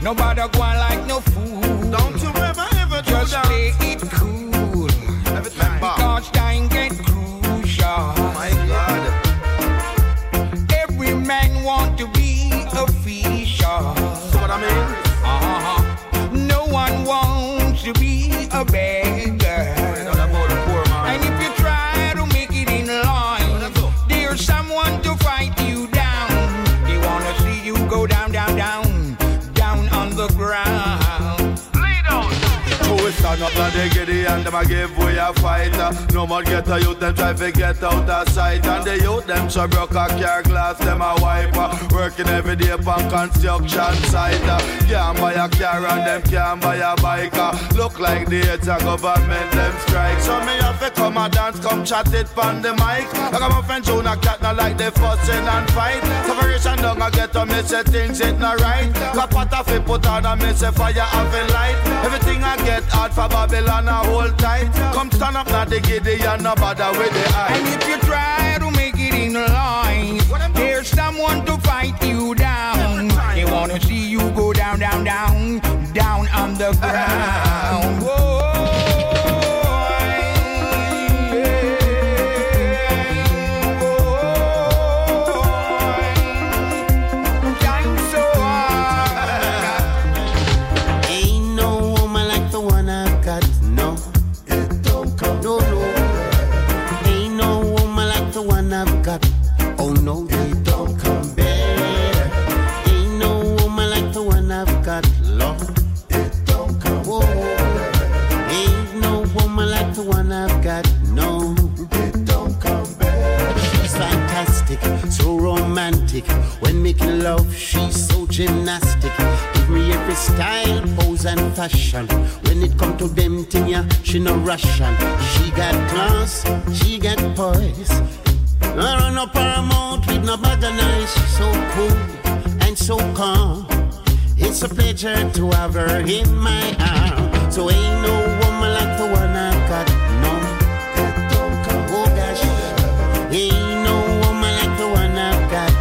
Nobody go on like no fool. Don't you ever just play it cool. Every time, because time get crucial. My God. Every man want to be official. See what I mean? No one wants to be a beggar. And if you try to make it in line, there's someone to fight you down. They wanna see you go down, down, down, down on the ground. Lay down. Who is stand up and they get it and them a give way a fight. No more get a youth, them try to get out of sight. And the youth, them so broke a car glass, them a wiper. Working every day upon construction site. Can't buy a car and them can't buy a bike. Look like the heads of government, them strike. So me have to come and dance, come chat it on the mic. I got my friend Jonah Cat, not like they fussing and fight. Separation down, I get to me say things it not right. Got pot of it put on and me say fire have a light. Everything I get hard for Babylon a hold tight. Come stand up now the giddy and no bother with the eye. And if you try to make it in line, there's someone to fight you down. They wanna see you go down, down, down, down on the ground. Whoa. When making love, she's so gymnastic. Give me every style, pose and fashion. When it come to them thing, yeah, she no Russian. She got class, she got poise. I run up her mouth with no bag of nice. She's so cool and so calm. It's a pleasure to have her in my arm. So ain't no woman like the one I've got, no. Oh gosh, ain't no woman like the one I've got.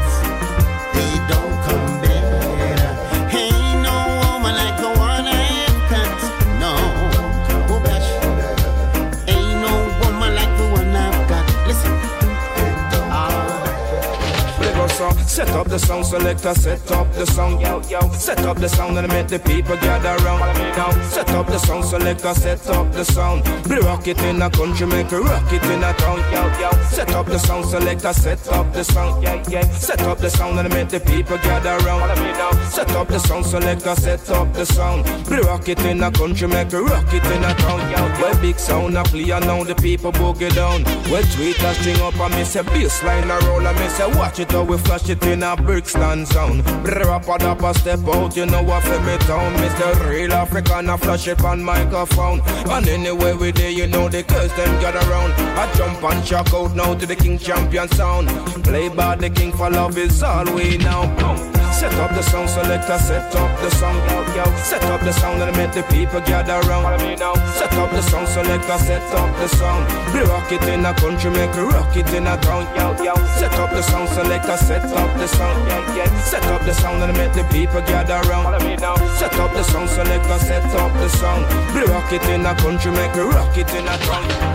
Set up the sound selector, set up the sound, yo, yo. Set up the sound and make the people gather round. Now, set up the sound selector, set up the sound. Be rock it in a country, make a rock it in a town, yo, yo. Set up the sound selector, set up the sound, yeah, yeah. Set up the sound and make the people gather round. Set up the sound selector, set up the sound. Be rock it in a country, make a rock it in a town, yo. Where big sound a play and now the people boogie down. Where tweet a string up and me say bassline a roll and me say watch it how we flash it in a Brixton sound. Rapper step out, you know what for me town. Mr. Real African, I flash it on microphone. And anyway we there, you know the girls them gather around. I jump and shock out now to the King Champion sound. Play by the King for love is all we know. Set up the sound selector, set up the sound, yo, yo. Set up the sound and make the people gather around. Set up the sound selector, set up the sound. Be rock it in a country, make a rock it in a town, yo, yo. Set up the sound selector, set up the sound, yeah, yeah. Set up the sound and make the people gather around. Set up the sound selector, set up the sound. Be rock it in a country, make a rock it in a town.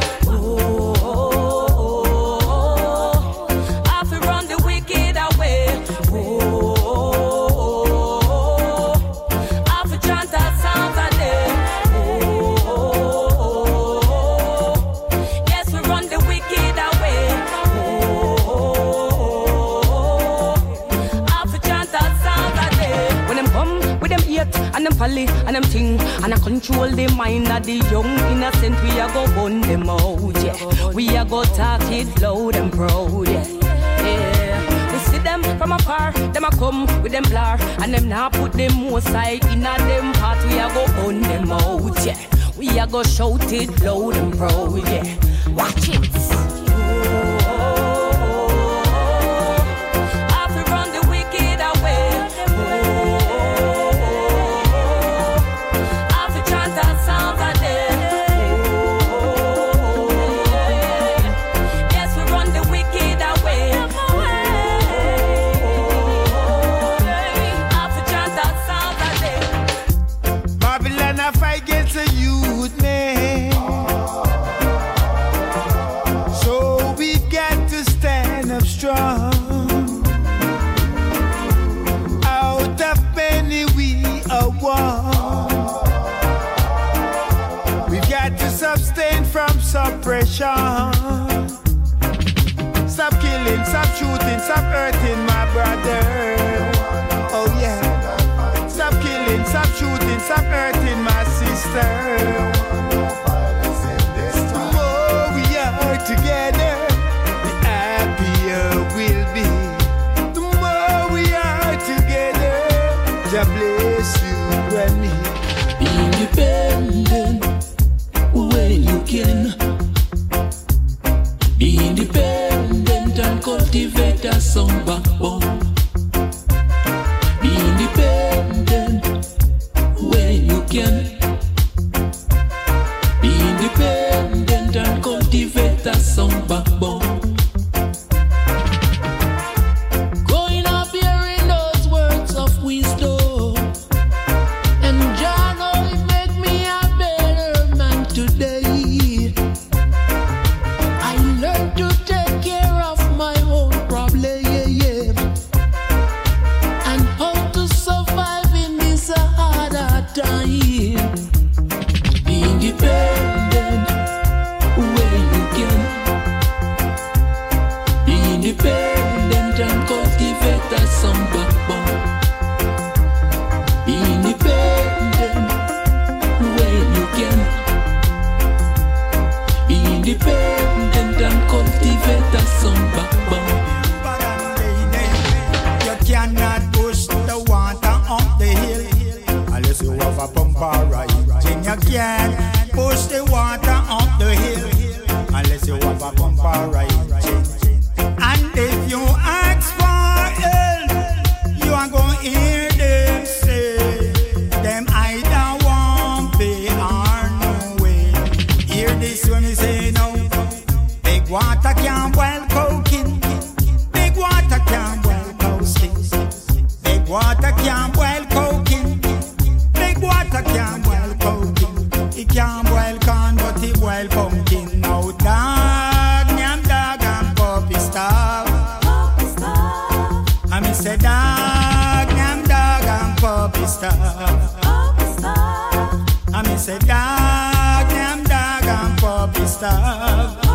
And them ting, and I control the mind of the young innocent. We a go burn them out, yeah. We a go talk it loud and proud, yeah. Yeah. We see them from afar, them a come with them blur, and them now put them more side in a them part. We a go burn them out, yeah. We a go shout it loud and proud, yeah. Watch it. a war. We've got to sustain from suppression. Stop killing, stop shooting, stop hurting my brother. Oh yeah. Stop killing, stop shooting, stop hurting my sister. The more we are together, the happier we'll be. The more we are together, God bless you and me. Be independent when you can. Be independent and cultivate a sound backbone. Be independent when you can. Be independent and cultivate a sound backbone. Going up hearing those words of wisdom, and Jah know it make me a better man today. I learned to take care of my own problem, and how to survive in this harder time. Be independent when you can. Be independent and cultivate a sound backbone. Be independent when you can. Be independent and cultivate a sound backbone. You cannot push the water up the hill unless you have a pump or a engine. You can't push the water up the hill unless you have a pump or a engine. And if you ask for help, you are going to hear them say, them either won't pay or no way. Hear this when you say no. Big water can't boil cooking. Big water can't boil coasting. Big water can't boil cooking. Big water can't boil cooking. It can't boil corn, but it boil pumpkin. Now dog, nyam dog and puppy starve. I mean say dog, nyam dog and puppy starve. I mean say dog, nyam dog and puppy starve.